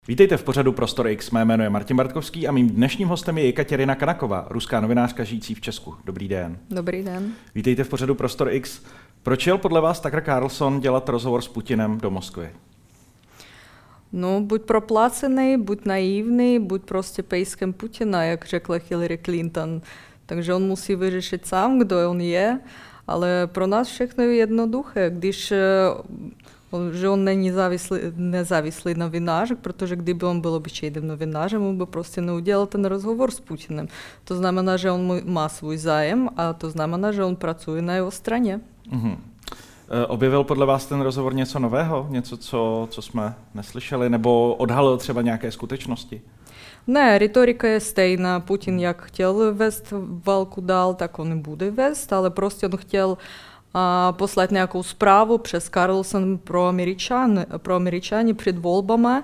Vítejte v pořadu Prostor X, mé jméno je Martin Bartkovský a mým dnešním hostem je Jekatěrina Kanaková, ruská novinářka žijící v Česku. Dobrý den. Dobrý den. Vítejte v pořadu Prostor X. Proč jel podle vás Tucker Carlson dělat rozhovor s Putinem do Moskvy? No, buď proplacený, buď naivný, buď prostě pejskem Putina, jak řekla Hillary Clinton. Takže on musí vyřešit sám, kdo on je, ale pro nás všechno je jednoduché, když že on není nezávislý novinář, protože kdyby on byl obyčejným novinářem, on by prostě neudělal ten rozhovor s Putinem. To znamená, že on má svůj zájem a to znamená, že on pracuje na jeho straně. Mhm. Objevil podle vás ten rozhovor něco nového? Něco, co jsme neslyšeli? Nebo odhalil třeba nějaké skutečnosti? Ne, retorika je stejná. Putin jak chtěl vést válku dál, tak on i bude vést, ale prostě on chtěl poslať nějakou zprávu přes Carlson pro Američany před volbami.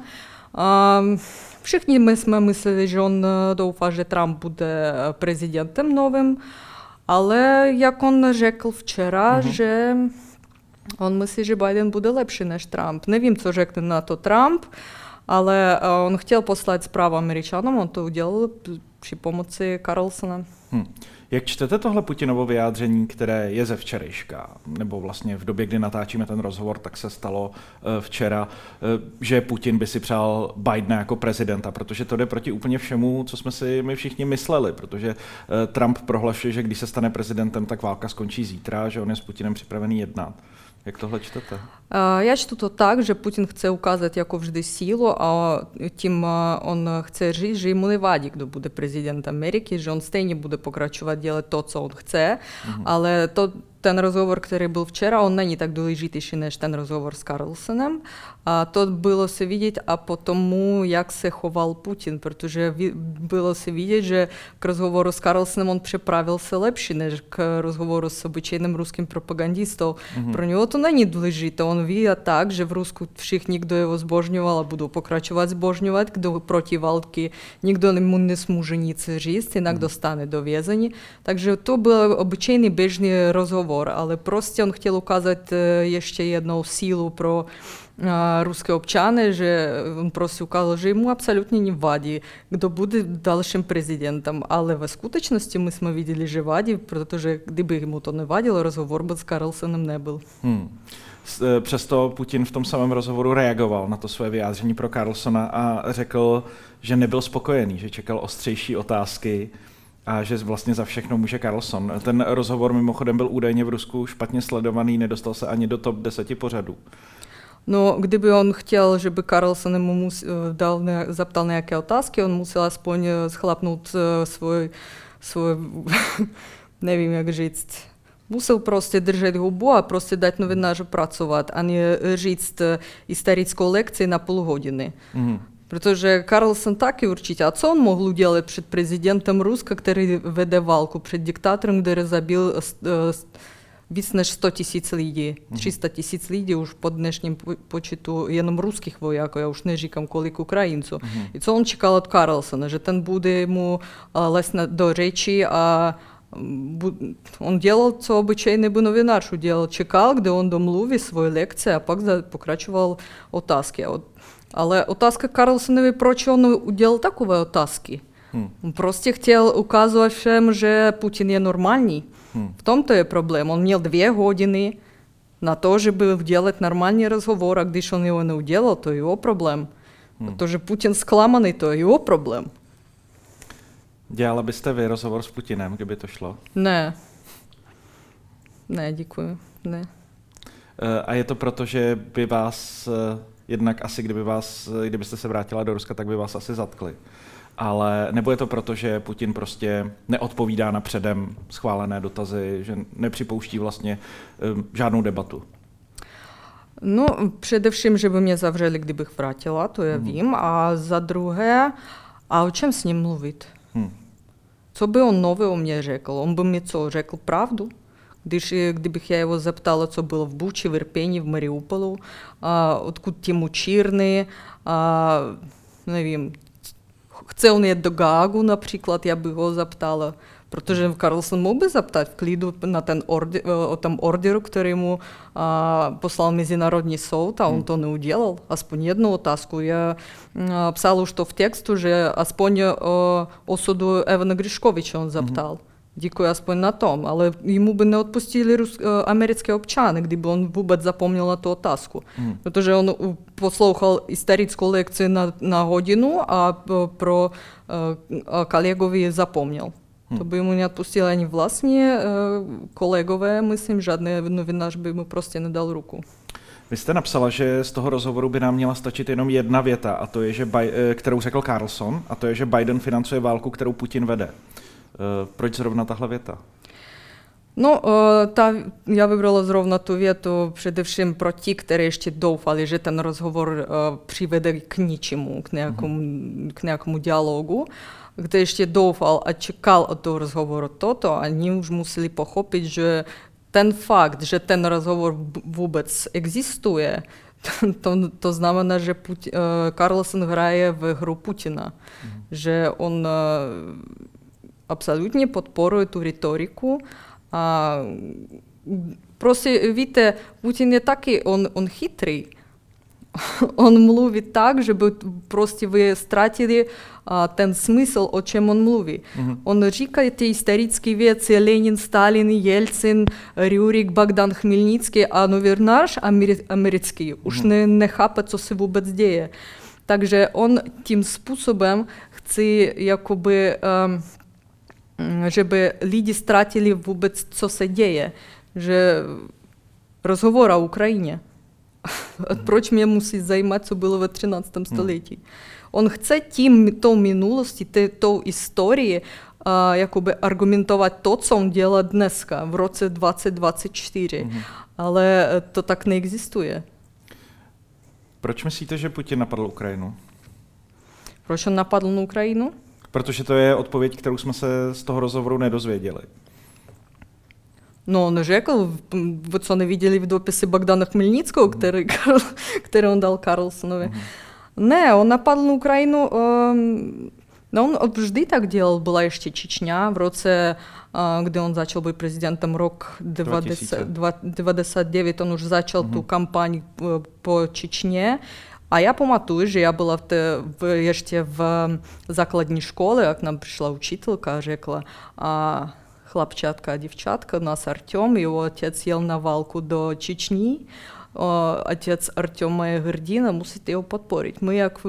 Všichni my jsme mysleli, že on doufá, že Trump bude prezidentem novým, ale jak on řekl včera, že on myslí, že Biden bude lepší než Trump. Nevím, co řekne na to Trump, ale on chtěl poslat zprávu Američanům, on to udělal při pomoci Carlsona. Jak čtete tohle Putinovo vyjádření, které je ze včerejška, nebo vlastně v době, kdy natáčíme ten rozhovor, tak se stalo včera, že Putin by si přál Bidena jako prezidenta, protože to jde proti úplně všemu, co jsme si my všichni mysleli, protože Trump prohlašuje, že když se stane prezidentem, tak válka skončí zítra, že on je s Putinem připravený jednat. Jak tohle čtete? Já čtu to tak, že Putin chce ukázat jako vždy sílu a tím on chce říct, že jemu nevadí, kdo bude prezident Ameriky, že on stejně bude pokračovat dělat to, co on chce, ale ten rozhovor, který byl včera, on není tak důležitější než ten rozhovor s Carlsonem. A to bylo se vidět a po tomu, jak se choval Putin, protože bylo se vidět, že k rozhovoru s Carlsonem on připravil se lepší, než k rozhovoru s obyčejným ruským propagandistou. Pro něho to není důležité. On ví tak, že v Rusku všichni, kdo jeho zbožňoval a budou pokračovat zbožňovat, kdo proti války, nikdo mu nesmůže nic říct, jinak dostane do vězení. Takže to byl obyčejný běžný rozhovor, ale prostě on chtěl ukázat ještě jednou sílu pro ruské občany, že on prostě ukázal, že jemu absolutně nevadí, kdo bude dalším prezidentem, ale ve skutečnosti my jsme viděli, že vadí, protože kdyby mu to nevadilo, rozhovor by s Carlsonem nebyl. Přesto Putin v tom samém rozhovoru reagoval na to své vyjádření pro Carlsona a řekl, že nebyl spokojený, že čekal ostřejší otázky a že vlastně za všechno může Carlson. Ten rozhovor mimochodem byl údajně v Rusku špatně sledovaný, nedostal se ani do top 10 pořadů. No, kdyby on chtěl, že by Carlson mu zaptal nějaké otázky, on musel aspoň schlapnout svůj nevím, jak říct, musel prostě držet hubu a prostě dát novináři pracovat, a ne říct historickou lekci na půl hodiny. Protože Carlson taky určitě. A co on mohl udělat před prezidentem Ruska, který vede válku, před diktátorem, který zabil víc než 100 000 lidí, 300 000 lidí už po dnešním počtu jenom ruských vojáků, já už neříkám kolik Ukrajinců. I co on čekal od Carlsona, že ten bude mu lézt do řeči a on dělal, co obyčejný novinář udělal. Čekal, kde on domluví svoje lekce a pak pokračoval otázky. Ale otázka Carlsonovi, proč on udělal takové otázky? On prostě chtěl ukázat všem, že Putin je normální. V tom to je problém. On měl 2 hodiny na to, żeby dělat normální rozhovor, a když on jeho neudělal, to je jeho problém. Protože Putin zklamaný, to je jeho problém. Dělala byste vy rozhovor s Putinem, kdyby to šlo? Ne. Ne, děkuji. Ne. A je to proto, že by vás, jednak asi kdybyste se vrátila do Ruska, tak by vás asi zatkli. Ale nebo je to proto, že Putin prostě neodpovídá na předem schválené dotazy, že nepřipouští vlastně žádnou debatu? No, především, že by mě zavřeli, kdybych vrátila, to já vím. A za druhé, a o čem s ním mluvit? Co by on nového mě řekl? On by mi co, řekl pravdu? Kdybych já jeho zeptala, co bylo v Buči, v Irpeni, v Mariupolu, odkud ti mučírny, nevím, chce on jet do Gágu například, já bych ho zeptala, Protože Карлсон мог бы запитати в кліду на ten ордер, který mu poslal Mezinárodní soud, a on to neudělal. Aspoň jednu otázku. Já psal už to v textu, že aspoň osudu Evana Griškoviča on zaptal. Děkuji aspoň na tom, ale jemu by neodpustili americké občany, kdyby on vůbec zapomněl na tu otázku. Protože on poslouchal historickou lekci na hodinu a pro kolegovi zapomněl. To by mu neodpustili ani vlastní kolegové, myslím, žádný novinář by mu prostě nedal ruku. Vy jste napsala, že z toho rozhovoru by nám měla stačit jenom jedna věta, a to je, že kterou řekl Carlson, a to je, že Biden financuje válku, kterou Putin vede. Proč zrovna tahle věta? No, já vybrala zrovna tu větu především pro ti, kteří ještě doufali, že ten rozhovor přivede k ničemu, k nějakému dialogu. Kdo ještě doufal a čekal od toho rozhovoru toto, oni už museli pochopit, že ten fakt, že ten rozhovor vůbec existuje, to znamená, že Carlson hraje v hru Putina, že on absolutně podporuje tu retoriku. A prostě víte, Putin je taky, on chytrý. On mluví tak, že by prostě vy ztratili ten smysl, o čem on mluví. On říká ty historické věci, Lenin, Stalin, Jelcin, Rjurik, Bogdan Chmelnický, a novinář americký už nechápe, co se vůbec děje. Takže on tím způsobem chce jakoby żeby lidi ztratili vůbec, co se děje, že rozhovor o Ukrajině. Proč mě musí zajímat, co bylo ve 13. století? On chce tou minulostí, tou historií jakoby argumentovat to, co on dělá dneska, v roce 2024. Ale to tak neexistuje. Proč myslíte, že Putin napadl Ukrajinu? Proč on napadl na Ukrajinu? Protože to je odpověď, kterou jsme se z toho rozhovoru nedozvěděli. No, on řekl, вы co neviděli v dopise Bogdana Chmelnického, který on dal Carlsonovi. Ne, on napadl na Ukrajinu, no on vždy tak dělal, byla ještě Čečňa v roce, kdy on začal být prezidentem rok 99, on už začal tu kampaň po Čečně. A já pamatuju, že já byla ještě v základní škole, a k nám přišla učitelka a řekla, chlapčátka a děvčátka, u nás Artem, jeho otec jel na válku do Čečny, otec Artema je hrdina, musíte ho podporit. My jak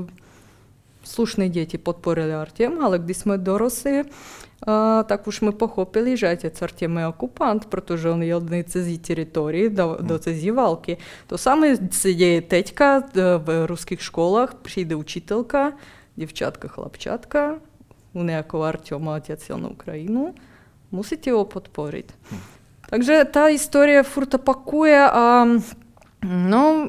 slušné děti podporili Artem, ale když jsme dorosli, tak už my pochopili, že otec Artem je okupant, protože on jel na cizí teritorii, do cizí války. To samé se děje teďka v ruských školách, přijde učitelka, děvčátka, chlapčátka, u nějakého Artema otec jel na Ukrajinu, musíte ho podporit. Takže ta historie furt opakuje a no,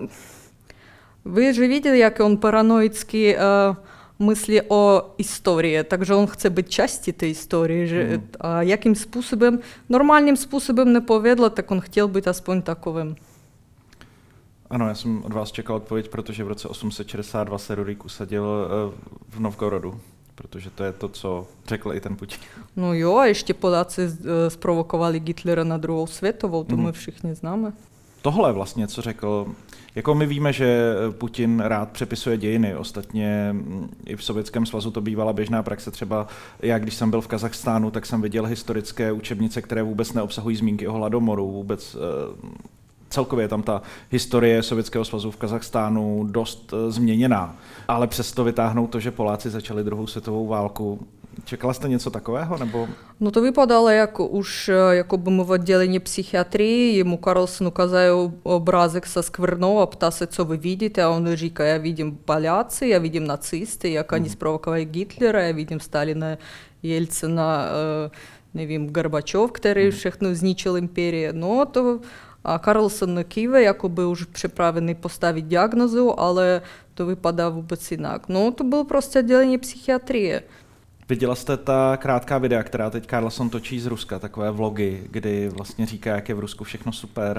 vy že viděli, jak on paranoicky myslí o historii, takže on chce být částí té historie, že a jakým způsobem, normálním způsobem nepovedlo, tak on chtěl být aspoň takovým. Ano, já jsem od vás čekal odpověď, protože v roce 862 se Rurik usadil v Novgorodu, protože to je to, co řekl i ten Putin. No jo, a ještě Poláci zprovokovali Hitlera na druhou světovou, to my všichni známe. Tohle vlastně, co řekl, jako my víme, že Putin rád přepisuje dějiny, ostatně i v Sovětském svazu to bývala běžná praxe, třeba já, když jsem byl v Kazachstánu, tak jsem viděl historické učebnice, které vůbec neobsahují zmínky o hladomoru, vůbec celkově je tam ta historie Sovětského svazu v Kazachstánu dost změněná, ale přesto vytáhnout to, že Poláci začali druhou světovou válku. Čekala jste něco takového, nebo? No to vypadalo, jak už jakoby my v oddělení psychiatrii, jemu Carlson ukázal obrázek se skvrnou a ptá se, co vy vidíte, a on říká, já vidím Poláci, já vidím nacisty, jak oni zprovokovali Hitlera, já vidím Stalina, Jelcina, nevím, Gorbačov, který všechno zničil imperii. No to a Carlson kýve, jakoby už připravený postavit diagnozu, ale to vypadá vůbec jinak. No to bylo prostě oddělení psychiatrie. Viděla jste ta krátká videa, která teď Carlson točí z Ruska, takové vlogy, kdy vlastně říká, jak je v Rusku všechno super.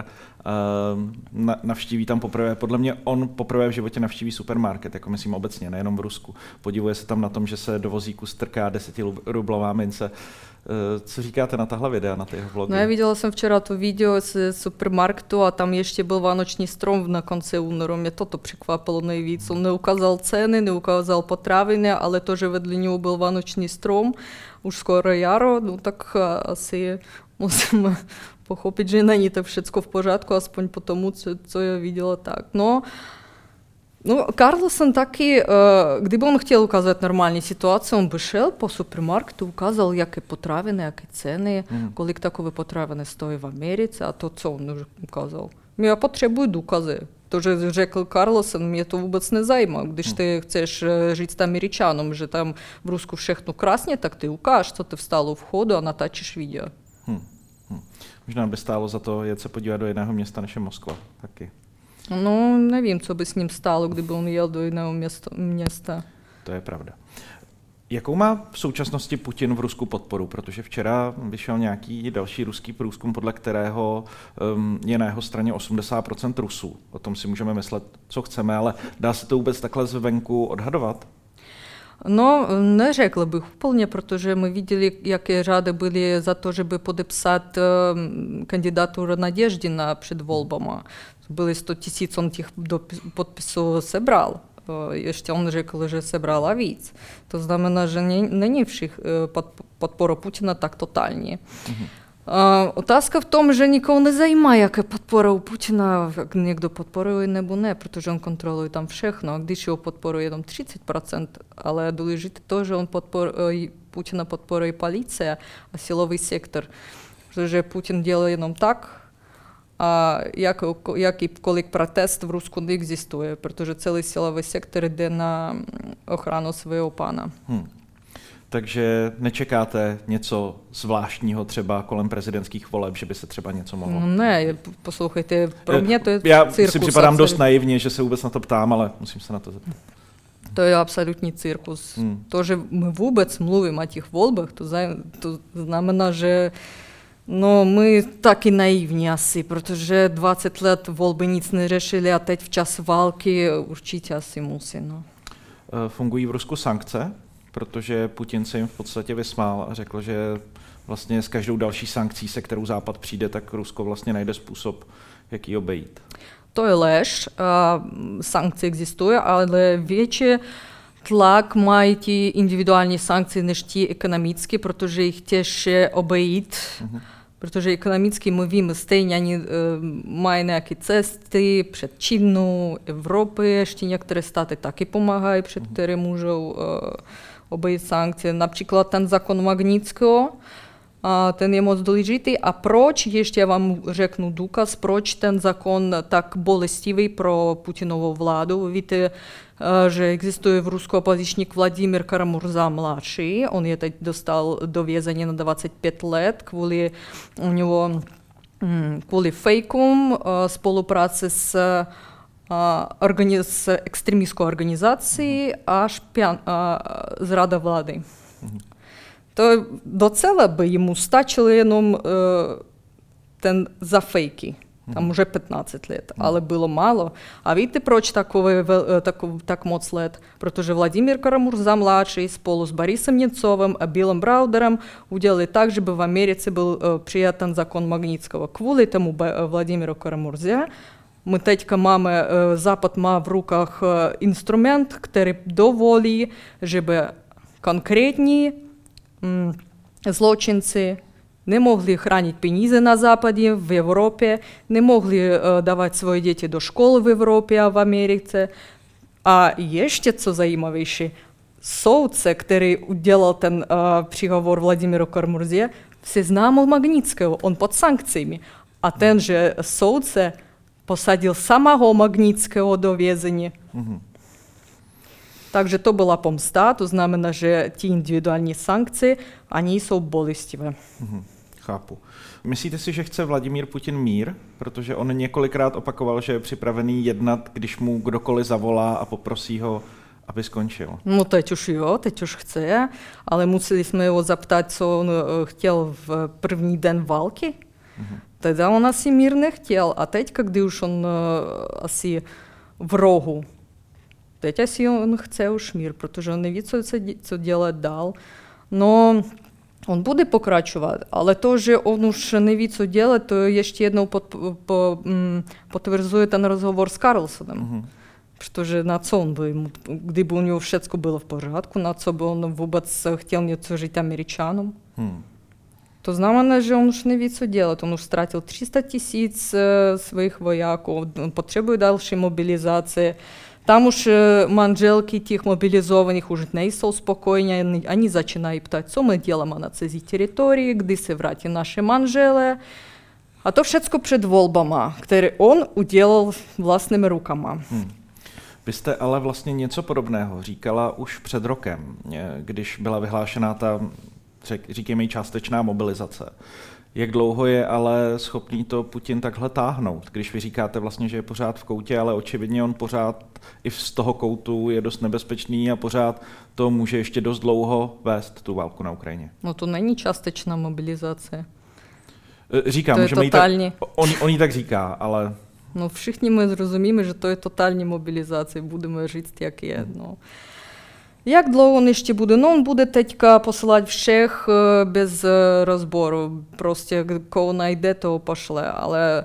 Navštíví tam poprvé, podle mě on poprvé v životě navštíví supermarket, jako myslím obecně, nejenom v Rusku. Podivuje se tam na tom, že se do vozíku strká 10rublová mince. Co říkáte na tahle videa, na ty jeho vlogy? No, я видела jsem včera to video z supermarketu a tam ještě byl vánoční strom na konci února. Mě toto překvapilo nejvíc. On neukázal ceny, neukázal potraviny, ale to, že vedle něho byl vánoční strom, už skoro jaro, no tak asi musíme pochopit, že není to všecko v pořádku, aspoň po tomu, co já viděla tak. No, Carlson taky, kdyby on chtěl ukázat normální situaci, on by šel po supermarketu, ukázal, jaké potraviny, jaké ceny, kolik takové potraviny stojí v Americe a to, co on už ukázal. Já potřebuji důkazy. To, že řekl Carlson, mě to vůbec nezajímá. Když ty chceš říct Američanům, že tam v Rusku všechno krásně, tak ty ukáž, co ty vstal u vchodu a natáčíš video. Možná by stálo za to jet se podívat do jiného města, než je Moskva taky. No, nevím, co by s ním stálo, kdyby on jel do jiného města. To je pravda. Jakou má v současnosti Putin v Rusku podporu? Protože včera vyšel nějaký další ruský průzkum, podle kterého je na jeho straně 80% Rusů. O tom si můžeme myslet, co chceme, ale dá se to vůbec takhle zvenku odhadovat? No, neřekl bych úplně, protože my viděli, jaké řady byly za to, żeby podepsat kandidaturu Naděždina před volbama. Byly 100 000, on těch podpisů sebral. Ještě on řekl, že sebral víc. To znamená, že není podpora Putina tak totální. Otázka v tom, že nikoho nezajímá, jaká podpora u Putina, jak někdo podporuje nebo ne, protože on kontroluje tam všechno. A když ho podporuje jenom 30%, ale důležité to, že Putina podporuje policie a silový sektor, protože Putin dělá jenom tak, a jakýkoliv protest v Rusku neexistuje, protože celý silový sektor jde na ochranu svého pána. Takže nečekáte něco zvláštního třeba kolem prezidentských voleb, že by se třeba něco mohlo? Ne, poslouchejte, pro mě to je cirkus. Já si připadám dost naivně, že se vůbec na to ptám, ale musím se na to zeptat. To je absolutní cirkus. To, že my vůbec mluvíme o těch volbách, to znamená, že no, my taky naivní asi, protože 20 let volby nic neřešili a teď v čas války určitě asi musí. No. Fungují v Rusku sankce? Protože Putin se jim v podstatě vysmál a řekl, že vlastně s každou další sankcí, se kterou Západ přijde, tak Rusko vlastně najde způsob, jak ji obejít. To je lež. Sankce existují, ale větší tlak mají ty individuální sankce než ty ekonomické, protože jich těžké obejít. Protože ekonomicky my víme stejně, oni mají nějaké cesty před Čínou, Evropy, ještě některé státy taky pomáhají, před které můžou obejít sankce. Například ten zákon Magnitského, ten je moc důležitý. A proč, ještě já vám řeknu důkaz, proč ten zákon tak bolestivý pro Putinovou vládu. Víte, že existuje v Rusku opozičník Vladimír Karamurza mladší. On je teď dostal do vězení na 25 let kvůli fejkům, spolupráci s extremistickou organizací a zrada vlády. To docela by jemu stačilo jenom ten za fejky. Tam уже 15 лет, ale bylo málo. A víte, proč tak moc let? Protože Vladimír Karamurza-mladší spolu s Borisem Němcovem a Billem Browderem udělali tak, že by v Americe byl přijat ten zákon Magnitského. Kvůli tomu Vladimíru Karamurze my teďka máme, Západ má v rukách instrument, který dovolí, żeby konkrétní zločinci nemohli chránit peníze na západě, v Evropě, nemohli dávat svoje děti do škol v Evropě a v Americe. A ještě co zajímavější, soudce, který udělal ten příhovor Vladimíru Karamurze, seznámil Magnitského, on pod sankcemi. A tenže soudce posadil samého Magnitského do vězení. Takže to byla pomsta, to znamená, že ty individuální sankce, oni jsou bolestivé. Chápu. Myslíte si, že chce Vladimír Putin mír? Protože on několikrát opakoval, že je připravený jednat, když mu kdokoliv zavolá a poprosí ho, aby skončil. No teď už chce, ale museli jsme ho zaptat, co on chtěl v první den války. Тогда он asi mír nechtěl. A teď, když už on asi v rohu, teď asi on chce už mír, protože on neví, co dělat dál. No, on bude pokračovat, ale to, že on už neví, co dělat, to ještě jednou potvrzuje ten rozhovor s Carlsonem. Protože na co on by, kdyby u něho všechno bylo v pořádku, na co by on vůbec chtěl něco říct Američanům. To znamená, že on už neví, co dělat. On už ztratil 300 000 svých vojáků, on potřebuje další mobilizaci. Tam už manželky těch mobilizovaných už nejsou spokojně, oni začínají ptát, co my děláme na cizí teritorii, kdy se vrátí naše manžele. A to všechno před volbama, které on udělal vlastními rukama. Vy jste ale vlastně něco podobného říkala už před rokem, když byla vyhlášená ta, říkejme jí, částečná mobilizace. Jak dlouho je ale schopný to Putin takhle táhnout, když vy říkáte vlastně, že je pořád v koutě, ale očividně on pořád i z toho koutu je dost nebezpečný a pořád to může ještě dost dlouho vést, tu válku na Ukrajině. No to není částečná mobilizace. Říkám, to je totální. On jí tak říká, ale... No všichni my rozumíme, že to je totální mobilizace, budeme říct, jak je. No. Jak dlouho on ještě bude? No on bude teďka posílat všech bez rozboru. Prostě koho najde, toho pošle. Ale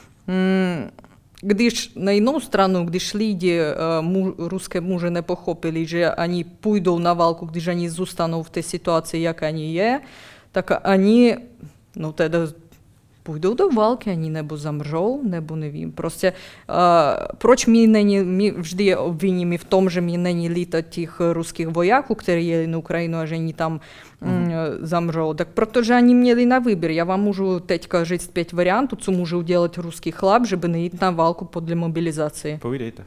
když na jinou stranu, když lidi, ruské muži nepochopili, že oni půjdou na válku, když oni zůstanou v té situaci, jak oni je, tak oni, no teda půjdou do války, oni nebo zamřou, nebo nevím. Prostě proč my vždy obviníme v tom, že mi není líto těch ruských vojáků, kteří jeli na Ukrajinu a že oni tam zamřou. Tak protože oni měli na výběr. Já vám můžu teďka říct 5 variantů, co může udělat ruský chlap, żeby nejít na válku podle mobilizace. Povídejte.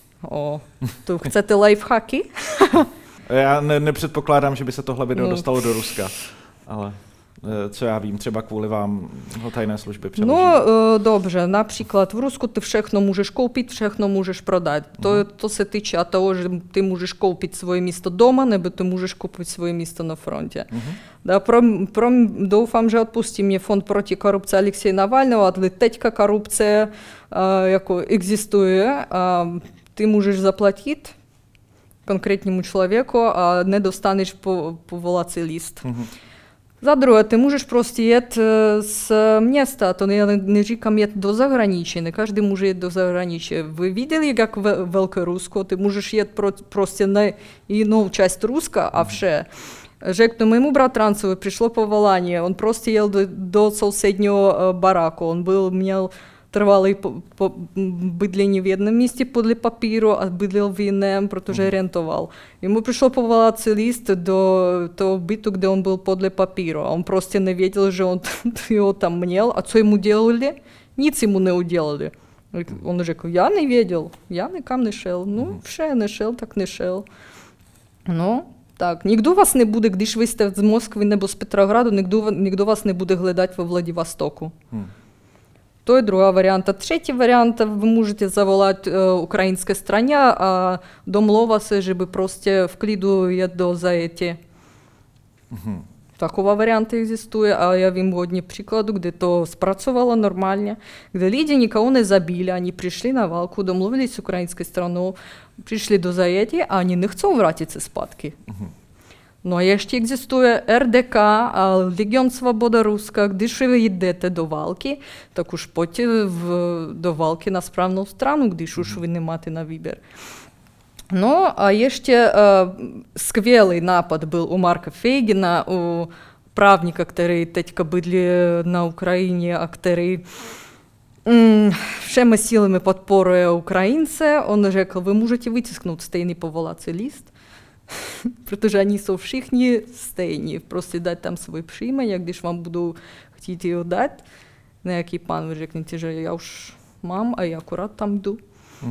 To chcete lifehacky? Já nepředpokládám, že by se tohle video dostalo do Ruska, ale... Co já vím, třeba kvůli vám ho tajné služby přeloží. No, dobře, například v Rusku ty všechno můžeš koupit, všechno můžeš prodat. To se týče toho, že ty můžeš koupit svoje místo doma, nebo ty můžeš koupit svoje místo na frontě. Да, doufám, že odpustí mě Fond proti korupci Alexeje Navalného, ale teďka korupce jako existuje, ty můžeš zaplatit konkrétnímu člověku a nedostaneš povolací list. За друге, ты можешь просто jet с места, то я не říkám jet do zahraničí, ne každý může jet do zahraničí. Вы видели, как в Великорусsko, ты можешь jet просто на jinou část Ruska a vše. Řeknu, mému bratrancovi přišlo povolání, on prostě jel do sousedního baráku, on měl trvalé bydlení v jednom místě podle papíru a bydlel v jiném, protože rentoval. Ему přišlo povolací list do toho bytu, kde on byl podle papíru. A on prostě nevěděl, že on ho tam měl. A co ему dělali? Nic ему neudělali. On řekl, já nevěděl, já nikam nešel. No, vše nešel, tak nešel. No, tak, nikdo vás nebude, když vy jste z Moskvy nebo z Petrogradu, nikdo vás nebude hledat ve Vladivostoku. To je druhá varianta. Třetí varianta, вы можете заволать украинской стране a domlouvat se, že by prostě v klidu jet do zajetí. Taková varianta existuje a já vím hodně příkladů, kde to zpracovalo normálně, kde lidi nikoho nezabili, oni přišli na válku, domluvili s ukrajinskou stranou, přišli do zajetí a oni nechcou vrátit se zpátky. No a ještě existuje RDK a Legion Svoboda Ruska. Když vy jdete do války, tak už pojďte do války na správnou stranu, když už vy nemáte na výběr. No a ještě skvělý nápad byl u Marka Feigina, u právníka, který teďka bydlí na Ukrajině a který všemi sílami podporuje Ukrajince. On řekl, vy můžete vytisknout stejný povolací list, protože oni jsou všichni stejní. Prostě dát tam svůj příjmení, a když vám budou chtít ho dát, nějaký pán, vy řeknete, že já už mám a já akorát tam jdu.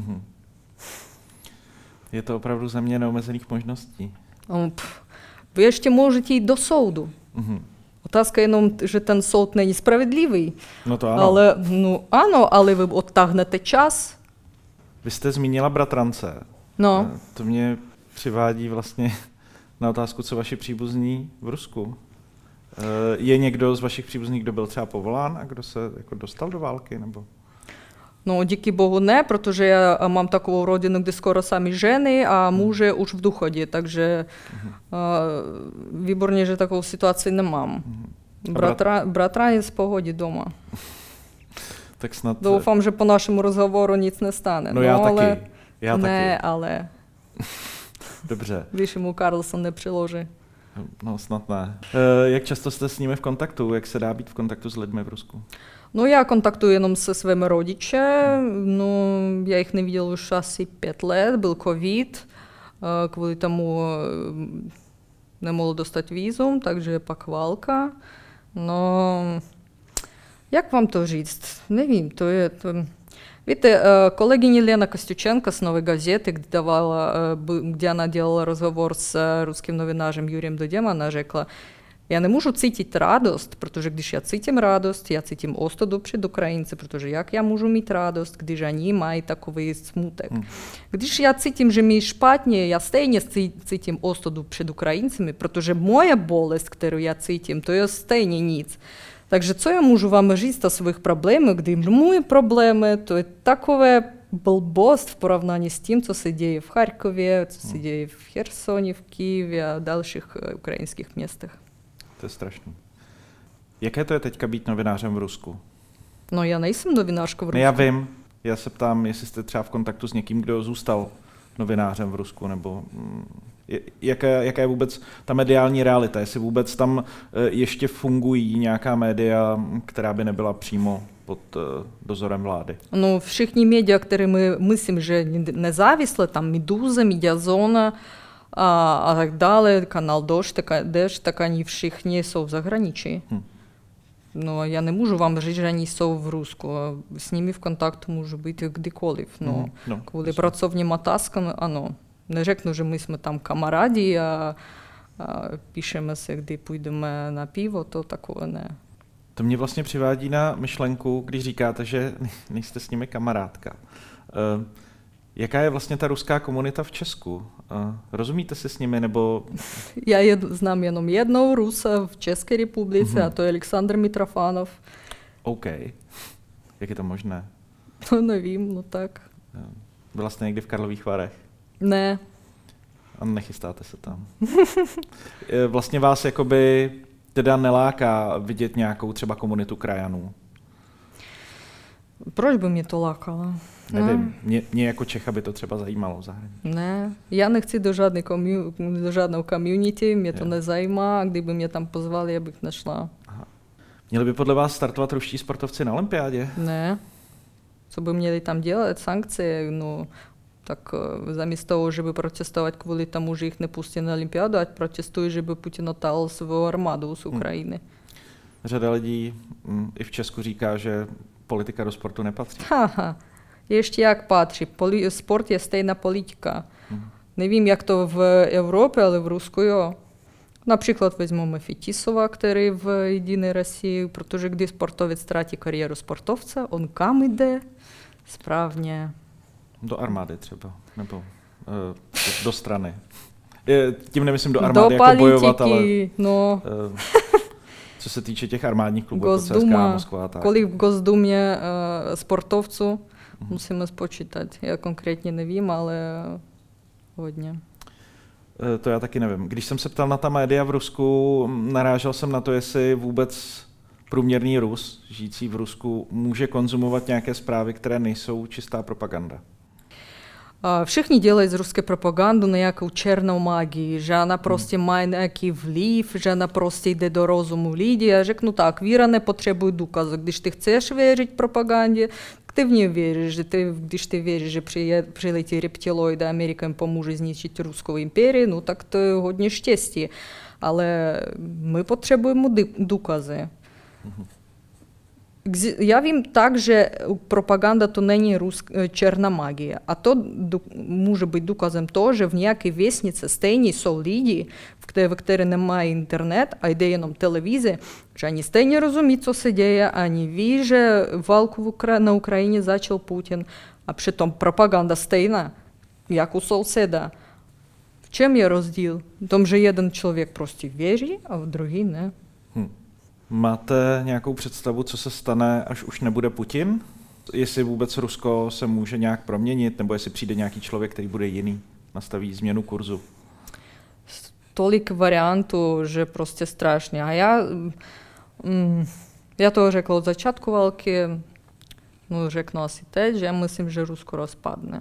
Je to opravdu země neomezených možností. Vy ještě můžete jít do soudu. Otázka jenom, že ten soud není spravedlivý. No to ano. Ale, ale vy odtáhnete čas. Vy jste zmínila bratrance. No. To mě přivádí vlastně na otázku, co vaši příbuzní v Rusku. Je někdo z vašich příbuzných, kdo byl třeba povolán a kdo se jako dostal do války? Nebo? No, díky bohu ne, protože já mám takovou rodinu, kde skoro sami ženy a muže už v důchodě, takže výborně, že takovou situaci nemám. Bratranec v pohodě doma. Tak snad... Doufám, že po našemu rozhovoru nic nestane. No já taky. Ne, ale... Dobře. Když mu Carlson nepřiloží. No snad ne. Jak často jste s nimi v kontaktu? Jak se dá být v kontaktu s lidmi v Rusku? No já kontaktuji jenom se svými rodiče. No, já jich neviděl už asi 5 let. Byl covid. Kvůli tomu nemohl dostat vízum, takže pak válka. No, jak vám to říct? Nevím, to je... Víte, kolegyně Lena Kostюченко z Новой газеты, где она делала розговор з русским новинарем Юрієм Дудем, она řekla, я не можу цитить радость, protože když já cítím radost, já cítím ostudu před Ukrajinci, protože jak já můžu mít radost, když oni mají takový smutek. Když já cítím, že mi špatně, já stejně cítím ostudu před Ukrajincami, protože moje bolest, kterou já cítím, to je stejně nic. Takže co já můžu vám říct o svých problémech, když moje problémy, to je takové blbost v porovnání s tím, co se děje v Charkově, co se děje v Chersoně, v Kyjevě a dalších ukrajinských městech. To je strašný. Jaké to je teďka být novinářem v Rusku? No já nejsem novinářka v Rusku. Ne, já vím. Já se ptám, jestli jste třeba v kontaktu s někým, kdo zůstal novinářem v Rusku, nebo jaká je vůbec ta mediální realita, jestli vůbec tam ještě fungují nějaká média, která by nebyla přímo pod dozorem vlády. No všichni média, které my myslím, že nezávislé, tam Медуза, Медиазона a tak dále, kanál Дождь, tak oni všichni jsou v zahraničí. No já nemůžu vám říct, že oni jsou v Rusku. S nimi v kontaktu můžu být kdykoliv. No, kvůli pracovním otázkám, ano. Neřeknu, že my jsme tam kamarádi a píšeme se, kdy půjdeme na pivo, to takové ne. To mě vlastně přivádí na myšlenku, když říkáte, že nejste s nimi kamarádka. Jaká je vlastně ta ruská komunita v Česku? Rozumíte si s nimi, nebo... Já znám jenom jednou Rusa v České republice, a to je Aleksandr Mitrofanov. OK. Jak je to možné? No nevím, no tak. Byla jste někdy v Karlových Varech? Ne. A nechystáte se tam. Vlastně vás jakoby teda neláká vidět nějakou třeba komunitu krajanů? Proč by mě to lákalo? Nevím, mě jako Čecha by to třeba zajímalo v zahraničí. Ne, já nechci do žádného community, mě to nezajímá, a kdyby mě tam pozvali, já bych nešla. Aha. Měli by podle vás startovat ruští sportovci na olympiádě? Ne. Co by měli tam dělat? Sankce? No, tak zamísto toho, že by protestovat kvůli tomu, že jich nepustí na olympiádu, ať protestují, že by Putin otal svou armádu z Ukrajiny. Řada lidí i v Česku říká, že politika do sportu nepatří. Ještě jak patří. Sport je stejná politika. Nevím, jak to v Evropě, ale v Rusku jo. Například vezmeme Fetisova, který v Jediné России, protože když sportovec ztratí kariéru sportovce, on kam jde? Správně. Do armády třeba, nebo do strany. Tím nemyslím do armády do jako bojovat, ale no. Co se týče těch armádních klubů, jako CSKA Moskva. Tak. Kolik v Gosdumě sportovců musíme spočítat. Já konkrétně nevím, ale hodně. To já taky nevím. Když jsem se ptal na ta média v Rusku, narážel jsem na to, jestli vůbec průměrný Rus, žijící v Rusku, může konzumovat nějaké zprávy, které nejsou čistá propaganda. Všichni dělají z ruské propagandu nějakou černou magii, že ona prostě má nějaký vliv, že ona prostě jde do rozumu lidí. Já řeknu tak, víra nepotřebuje důkazy. Když ty chceš věřit propagandě, ty v ní věříš. Když ty věříš, že přiletí reptiloidy a Amerika jim pomůže zničit ruskou imperii, no tak to je hodně štěstí. Ale my potřebujeme důkazy. Já vím tak, že propaganda to není černá magie. A to může být důkazem toho, že v nějaké vesnici stejně jsou lidi, ve které nemají internet a jde jenom televize, že oni stejně rozumí, co se děje, oni ví, že válku na Ukrajině začal Putin, a přitom propaganda stejná, jak u souseda. V čem je rozdíl? V tom, že jeden člověk prostě věří a druhý ne. Máte nějakou představu, co se stane, až už nebude Putin? Jestli vůbec Rusko se může nějak proměnit, nebo jestli přijde nějaký člověk, který bude jiný, nastaví změnu kurzu? Tolik variantů, že prostě strašně. A já to řekla od začátku války, no řeknu asi teď, že já myslím, že Rusko rozpadne.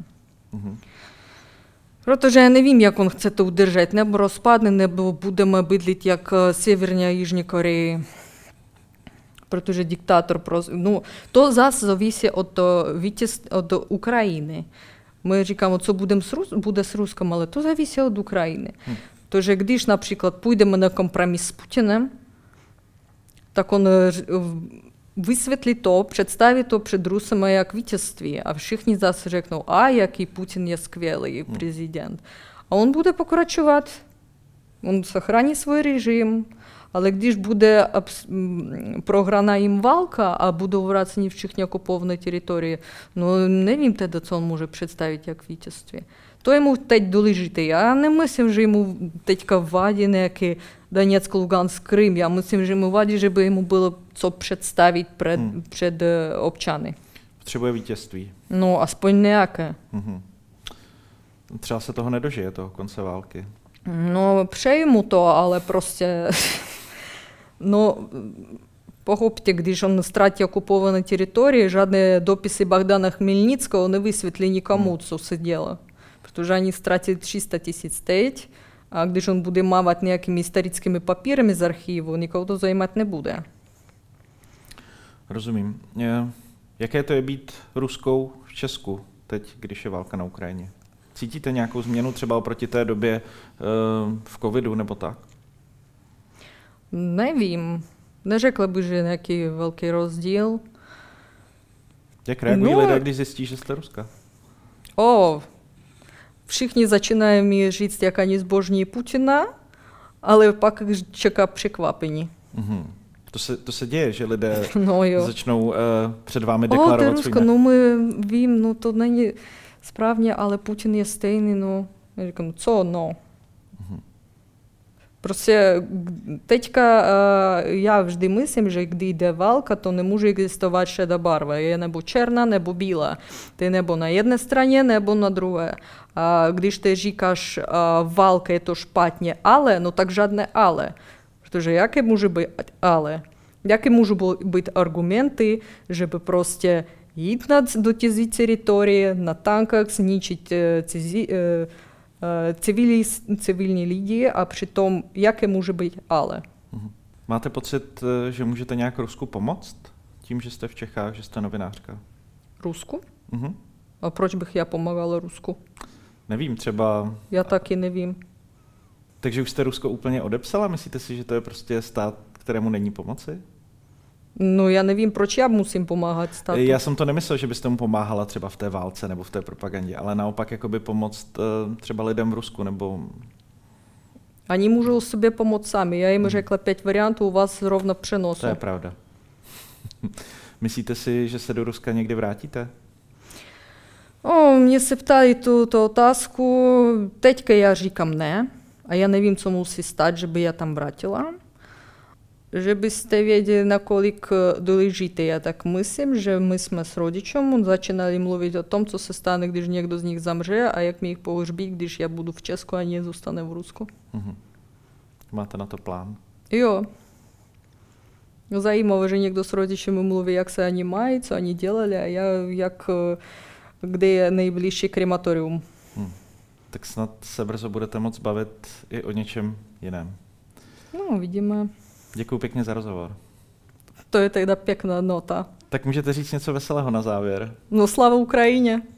Protože já nevím, jak on chce to udržet, nebo rozpadne, nebo budeme bydlit jak Severní a Jižní Koreji. Protože diktátor no, to zase závisí od Ukrajiny. My říkáme, co bude s Ruskem, ale to závisí od Ukrajiny. Protože když například půjdeme na kompromis s Putinem, tak on vysvětlí to, představí to před Rusem jak vítězství. A všichni zase řeknou, jaký Putin je skvělý prezident. A on bude pokračovat, on zachrání svůj režim, ale když bude prohraná jim válka a budou vráceni všichni okupované teritorie, no nevím teda, co on může představit jak vítězství. To jemu teď důležité. Já nemyslím, že jemu teďka vadí nějaký Donetsk, Lugansk, Krym. Já myslím, že mu vadí, že by jemu bylo co představit před občany. Potřebuje vítězství. No, aspoň nějaké. Třeba se toho nedožije, toho konce války. No, přeji mu to, ale prostě... No, pochopte, když on ztratí okupované teritorie, žádné dopisy Богдана Хмельницкого nevysvětlí nikomu, co se dělo. Protože oni ztratili 300 000 teď, a když on bude mávat nějakými historickými papírami z archivu, nikoho to zajímat nebude. Rozumím. Jaké to je být Ruskou v Česku teď, když je válka na Ukrajině? Cítíte nějakou změnu třeba oproti té době v covidu nebo tak? Nevím. Neřekla bych, že je nějaký velký rozdíl. Jak reagují lidé, když zjistí, že jste Ruska? Všichni začínají mi říct, jak oni zbožní Putina, ale pak čeká překvapení. To se děje, že lidé začnou před vámi deklarovat to je Rusko, no my vím, no to není správně, ale Putin je stejný, no. Já říkám, co no? Prostě teďka já vždy myslím, že když jde válka, to nemůže existovat šedá barva. Je nebo černá, nebo bílá. Ty nebo na jedné straně, nebo na druhé. A když ty říkáš, válka je to špatně, ale, no tak žádné ale. Protože jaké může být ale? Jaké můžou být argumenty, že by prostě jít do cizí teritorie, na tankách zničit civilní lidi a přitom, jaké může být ale. Máte pocit, že můžete nějak Rusku pomoct? Tím, že jste v Čechách, že jste novinářka? Rusku? A proč bych já pomáhala Rusku? Nevím, třeba... Já taky nevím. Takže už jste Rusko úplně odepsala? Myslíte si, že to je prostě stát, kterému není pomoci? No já nevím, proč já musím pomáhat státu. Já jsem to nemyslel, že byste mu pomáhala třeba v té válce nebo v té propagandě, ale naopak jakoby pomoct třeba lidem v Rusku nebo... Oni můžou sobě pomoct sami. Já jim řekla 5 variantů, u vás zrovna přenosu. To je pravda. Myslíte si, že se do Ruska někdy vrátíte? Mě se ptali tu otázku. Teďka já říkám ne. A já nevím, co musí stát, že by já tam vrátila. Že byste věděli, nakolik důležité. Já tak myslím, že my jsme s rodičem začínali mluvit o tom, co se stane, když někdo z nich zamře a jak mi jich pohřbí, když já budu v Česku a nie zůstane v Rusku. Máte na to plán? Jo. Zajímavé, že někdo s rodičem mluví, jak se oni mají, co oni dělali a kde je nejbližší krematorium. Tak snad se brzo budete moct bavit i o něčem jiném. No, vidíme. Děkuji pěkně za rozhovor. To je teda pěkná nota. Tak můžete říct něco veselého na závěr? No, sláva Ukrajině.